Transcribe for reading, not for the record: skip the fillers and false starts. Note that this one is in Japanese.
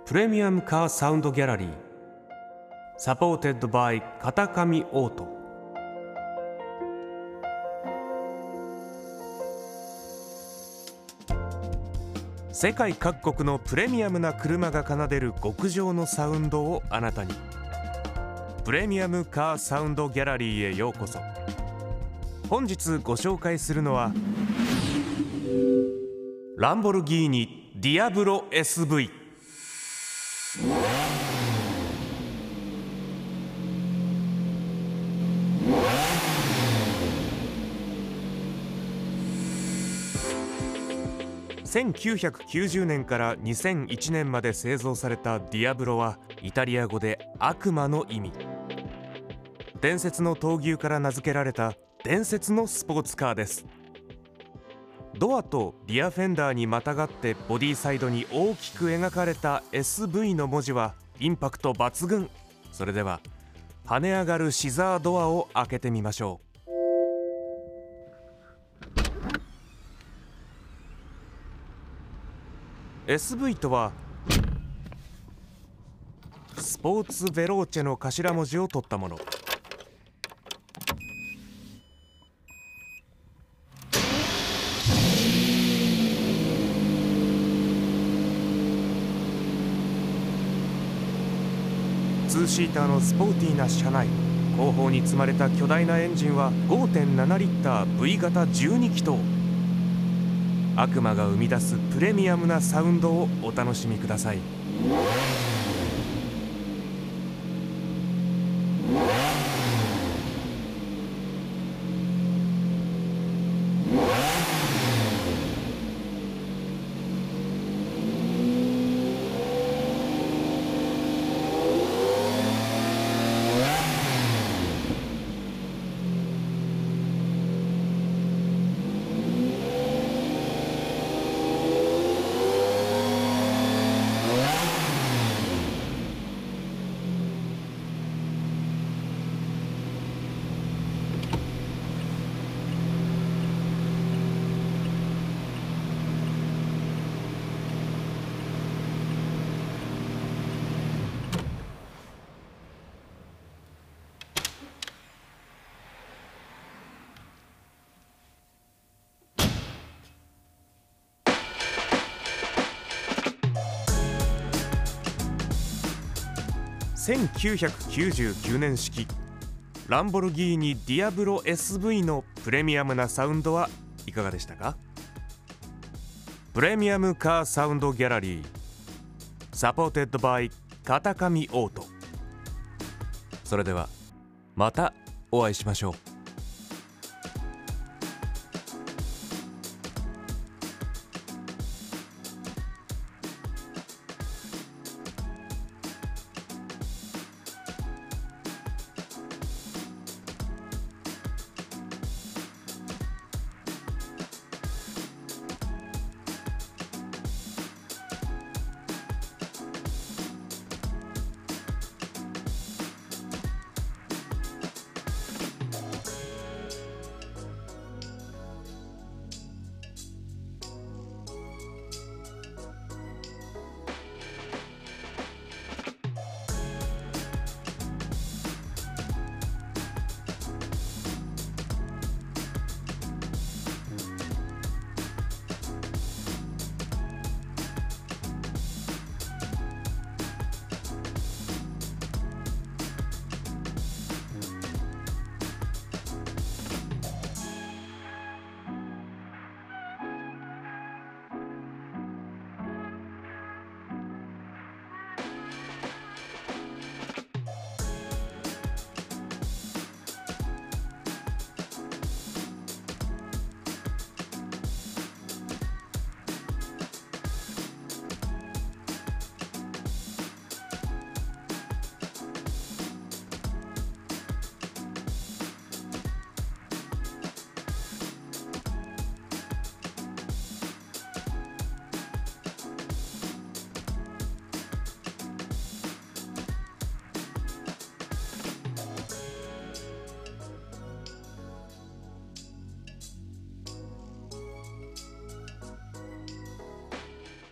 プレミアムカーサウンドギャラリーサポーテッドバイ片上オート。世界各国のプレミアムな車が奏でる極上のサウンドをあなたに。プレミアムカーサウンドギャラリーへようこそ。本日ご紹介するのはランボルギーニディアブロ SV。1990年から2001年まで製造されたディアブロはイタリア語で悪魔の意味。伝説の闘牛から名付けられた伝説のスポーツカーです。ドアとリアフェンダーにまたがってボディサイドに大きく描かれた SV の文字はインパクト抜群。それでは跳ね上がるシザードアを開けてみましょう。SV とはスポーツベローチェの頭文字を取ったもの。2シーターのスポーティーな車内、後方に積まれた巨大なエンジンは 5.7 リッター V 型12気筒。悪魔が生み出すプレミアムなサウンドをお楽しみください。1999年式ランボルギーニディアブロ SV のプレミアムなサウンドはいかがでしたか？プレミアムカーサウンドギャラリーサポーテッドバイ片上オート。それではまたお会いしましょう。